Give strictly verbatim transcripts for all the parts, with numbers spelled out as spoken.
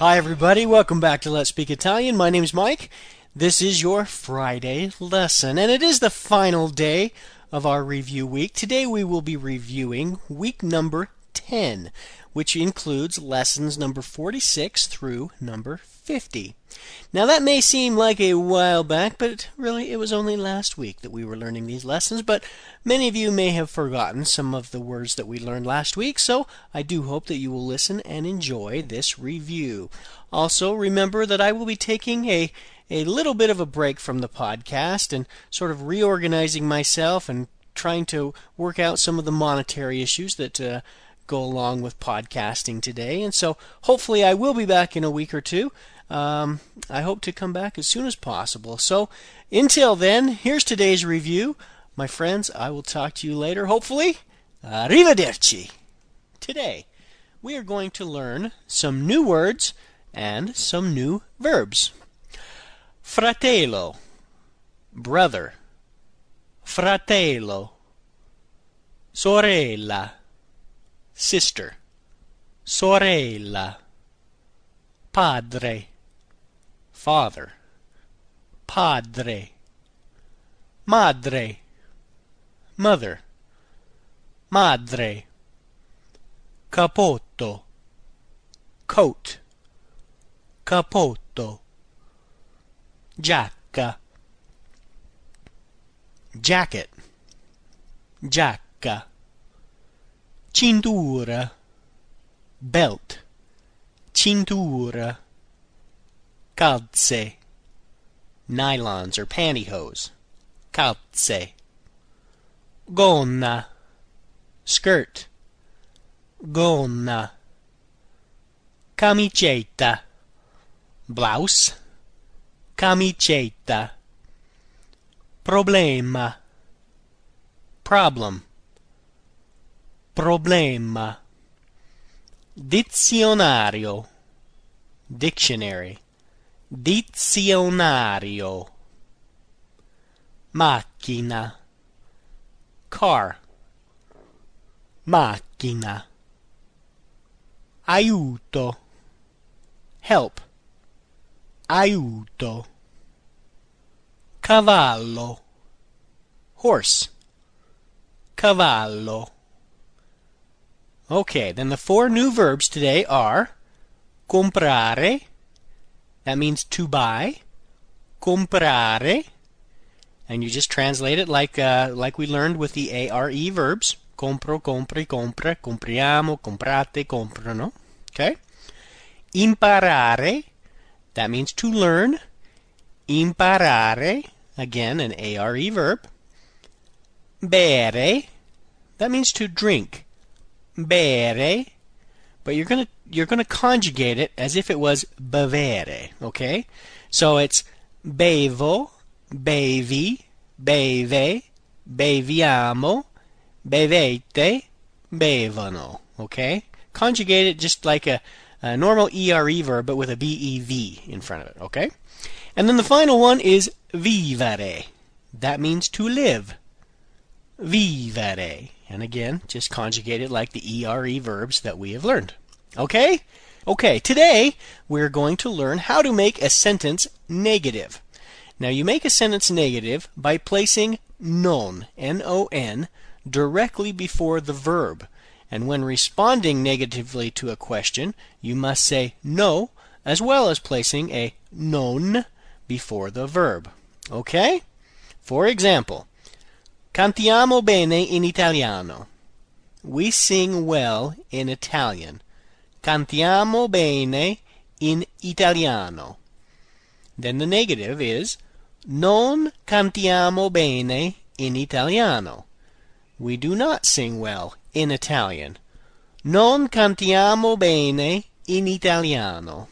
Hi everybody, welcome back to Let's Speak Italian. My name's Mike. This is your Friday lesson, and it is the final day of our review week. Today we will be reviewing week number ten, which includes lessons number forty-six through number fifty. Now that may seem like a while back, but really it was only last week that we were learning these lessons, but many of you may have forgotten some of the words that we learned last week, so I do hope that you will listen and enjoy this review. Also, remember that I will be taking a, a little bit of a break from the podcast and sort of reorganizing myself and trying to work out some of the monetary issues that uh, go along with podcasting today. And so hopefully I will be back in a week or two. Um, I hope to come back as soon as possible. So until then, here's today's review. My friends, I will talk to you later, hopefully. Arrivederci. Today, we are going to learn some new words and some new verbs. Fratello, brother. Fratello. Sorella, sister. Sorella. Padre, father. Padre. Madre, mother. Madre. Capotto, coat. Capotto. Giacca, jacket. Giacca. Cintura, belt. Cintura. Calze, nylons or pantyhose. Calze. Gonna, skirt. Gonna. Camicetta, blouse. Camicetta. Problema, problem. Problema. Dizionario, dictionary. Dizionario. Macchina, car. Macchina. Aiuto, help. Aiuto. Cavallo, horse. Cavallo. Okay, then the four new verbs today are comprare, that means to buy. Comprare, and you just translate it like uh, like we learned with the are verbs. Compro, compri, compra, compriamo, comprate, comprano. Okay? Imparare, that means to learn. Imparare, again an are verb. Bere, that means to drink. Bere, but you're gonna you're gonna conjugate it as if it was bevere, okay? So it's bevo, bevi, beve, beviamo, bevete, bevono, okay? Conjugate it just like a, a normal ere verb, but with a bev in front of it, okay? And then the final one is vivere. That means to live. Vivere. And again, just conjugate it like the ere verbs that we have learned. Okay? Okay, today we're going to learn how to make a sentence negative. Now you make a sentence negative by placing non, N O N, directly before the verb. And when responding negatively to a question, you must say no, as well as placing a non before the verb. Okay? For example, cantiamo bene in italiano. We sing well in Italian. Cantiamo bene in italiano. Then the negative is non cantiamo bene in italiano. We do not sing well in Italian. Non cantiamo bene in italiano.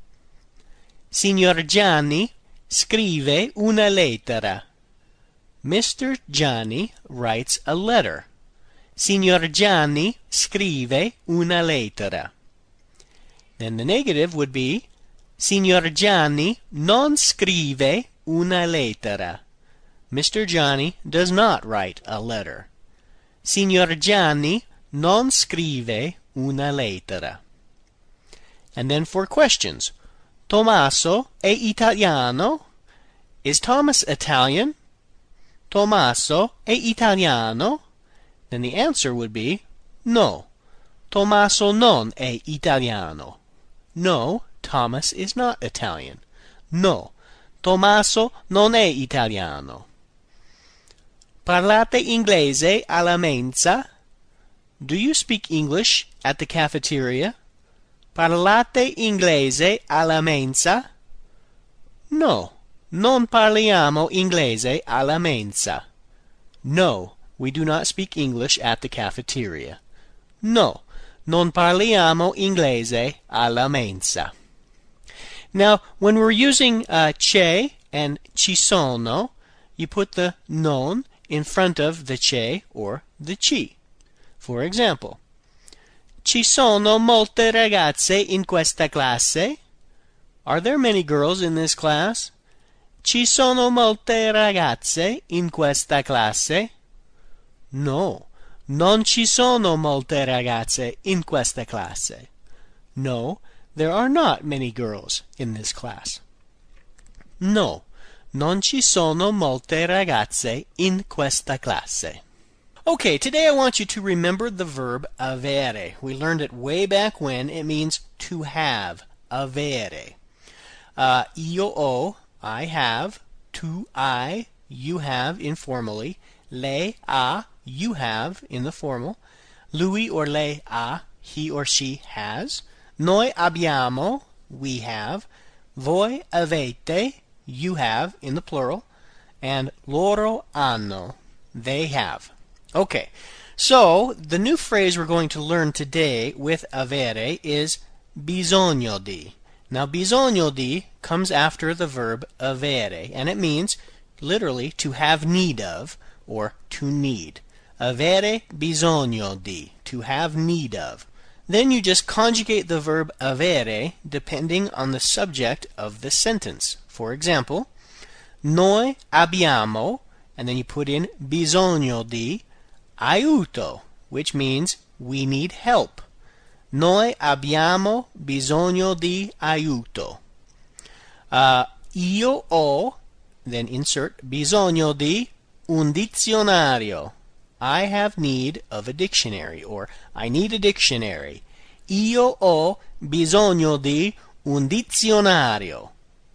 Signor Gianni scrive una lettera. Mister Gianni writes a letter. Signor Gianni scrive una lettera. Then the negative would be Signor Gianni non scrive una lettera. Mister Gianni does not write a letter. Signor Gianni non scrive una lettera. And then for questions. Tommaso è italiano? Is Thomas Italian? Tommaso è italiano? Then the answer would be no. Tommaso non è italiano. No, Thomas is not Italian. No, Tommaso non è italiano. Parlate inglese alla mensa? Do you speak English at the cafeteria? Parlate inglese alla mensa? No, non parliamo inglese alla mensa. No, we do not speak English at the cafeteria. No, non parliamo inglese alla mensa. Now, when we're using uh, c'è and ci sono, you put the non in front of the c'è or the ci. For example, ci sono molte ragazze in questa classe? Are there many girls in this class? Ci sono molte ragazze in questa classe? No, non ci sono molte ragazze in questa classe. No, there are not many girls in this class. No, non ci sono molte ragazze in questa classe. Okay, today I want you to remember the verb avere. We learned it way back when. It means to have, avere. Uh, io ho, I have. Tu hai, you have informally. Lei ha, you have in the formal. Lui or lei ha, he or she has. Noi abbiamo, we have. Voi avete, you have in the plural. And loro hanno, they have. Okay, so the new phrase we're going to learn today with avere is bisogno di. Now, bisogno di comes after the verb avere, and it means literally to have need of or to need. Avere bisogno di, to have need of. Then you just conjugate the verb avere depending on the subject of the sentence. For example, noi abbiamo, and then you put in bisogno di aiuto, which means we need help. Noi abbiamo bisogno di aiuto. Uh, io ho, then insert bisogno di un dizionario. I have need of a dictionary, or I need a dictionary. Io ho bisogno di un dizionario.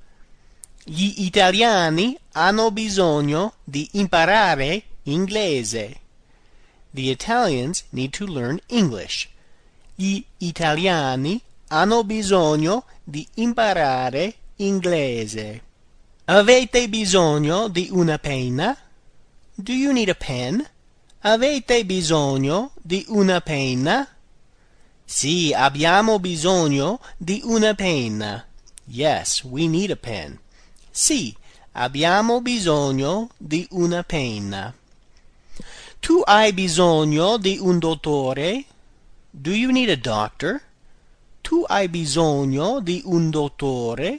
Gli italiani hanno bisogno di imparare inglese. The Italians need to learn English. Gli italiani hanno bisogno di imparare inglese. Avete bisogno di una penna? Do you need a pen? Avete bisogno di una penna? Sì, abbiamo bisogno di una penna. Yes, we need a pen. Sì, abbiamo bisogno di una penna. Tu hai bisogno di un dottore? Do you need a doctor? Tu hai bisogno di un dottore?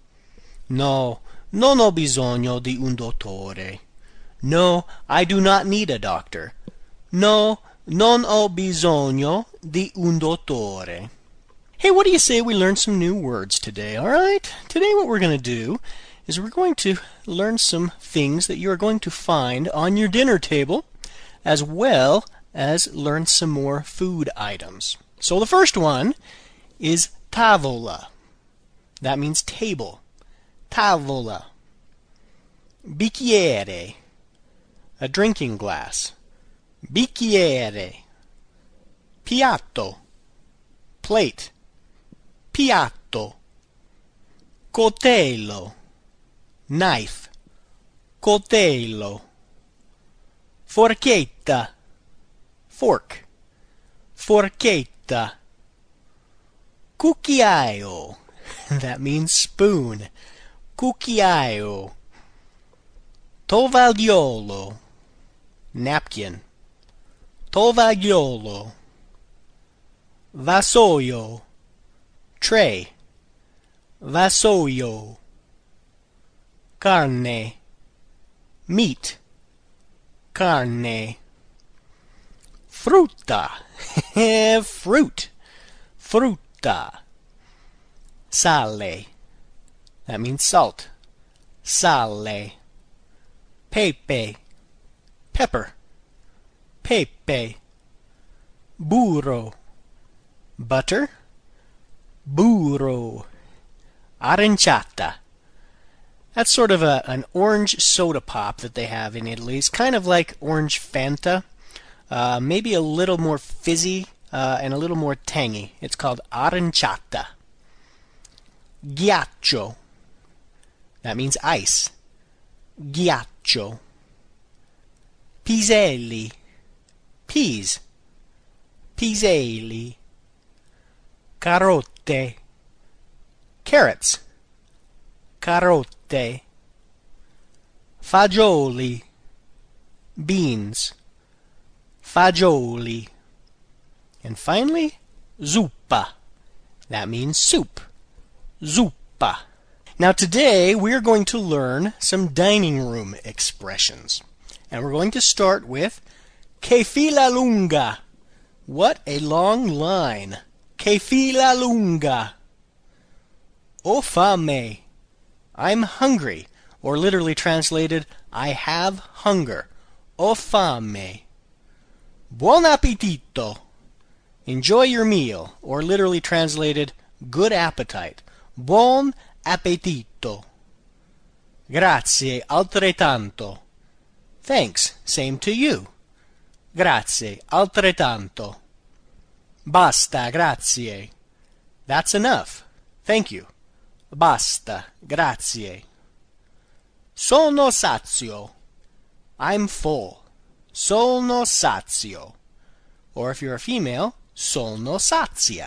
No, non ho bisogno di un dottore. No, I do not need a doctor. No, non ho bisogno di un dottore. Hey, what do you say we learn some new words today, all right? Today what we're going to do is we're going to learn some things that you're going to find on your dinner table, as well as learn some more food items. So the first one is tavola. That means table. Tavola. Bicchiere. A drinking glass. Bicchiere. Piatto. Plate. Piatto. Coltello. Knife. Coltello. Forchetta. Fork. Forchetta. Cucchiaio. That means spoon. Cucchiaio. Tovagliolo. Napkin. Tovagliolo. Vassoio. Tray. Vassoio. Carne. Meat. Carne. Frutta. Fruit. Frutta. Sale. That means salt. Sale. Pepe. Pepper. Pepe. Burro. Butter. Burro. Aranciata. That's sort of a, an orange soda pop that they have in Italy. It's kind of like orange Fanta, uh, maybe a little more fizzy uh, and a little more tangy. It's called aranciata. Ghiaccio. That means ice. Ghiaccio. Piselli. Peas. Piselli. Carote. Carrots. Carote. Fagioli. Beans. Fagioli. And finally, zuppa. That means soup. Zuppa. Now today we're going to learn some dining room expressions. And we're going to start with che fila lunga. What a long line. Che fila lunga. Ho fame. I'm hungry. Or literally translated, I have hunger. Ho fame. Buon appetito. Enjoy your meal. Or literally translated, good appetite. Buon appetito. Grazie altrettanto. Thanks, same to you. Grazie altrettanto. Basta, grazie. That's enough. Thank you. Basta, grazie. Sono sazio. I'm full. Sono sazio. Or if you're a female, sono sazia.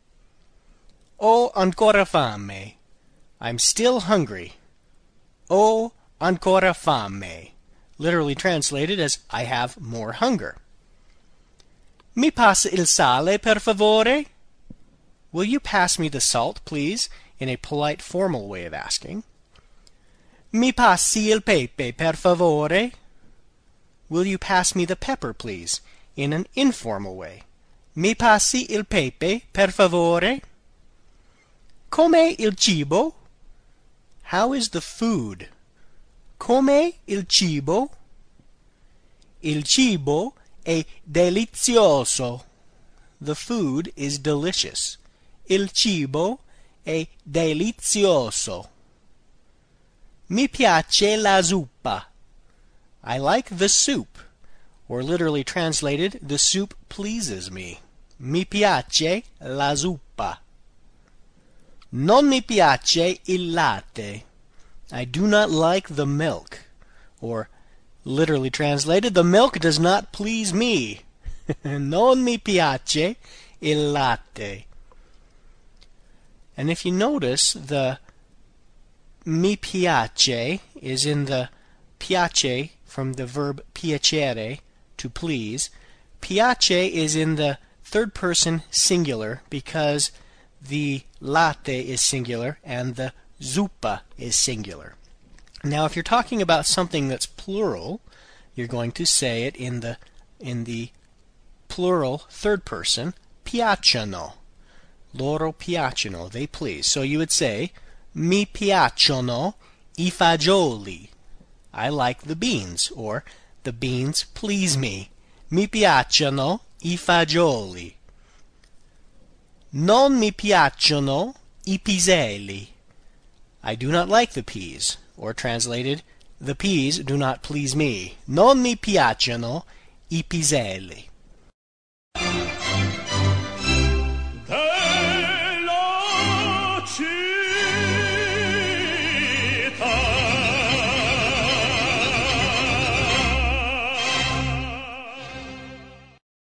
Ho ancora fame. I'm still hungry. Ho ancora fame. Literally translated as I have more hunger. Mi passa il sale, per favore? Will you pass me the salt, please? In a polite, formal way of asking. Mi passi il pepe, per favore? Will you pass me the pepper, please? In an informal way. Mi passi il pepe, per favore? Com'è il cibo? How is the food? Com'è il cibo? Il cibo è delizioso. The food is delicious. Il cibo è delizioso. Mi piace la zuppa. I like the soup. Or literally translated, the soup pleases me. Mi piace la zuppa. Non mi piace il latte. I do not like the milk. Or, literally translated, the milk does not please me. Non mi piace il latte. And if you notice, the mi piace is in the piace from the verb piacere, to please. Piace is in the third person singular because the latte is singular and the zuppa is singular. Now if you're talking about something that's plural, you're going to say it in the in the plural third person, piacciono. Loro piacciono, they please. So you would say, mi piacciono I fagioli. I like the beans, or the beans please me. Mi piacciono I fagioli. Non mi piacciono I piselli. I do not like the peas, or translated, the peas do not please me. Non mi piacciono I piselli.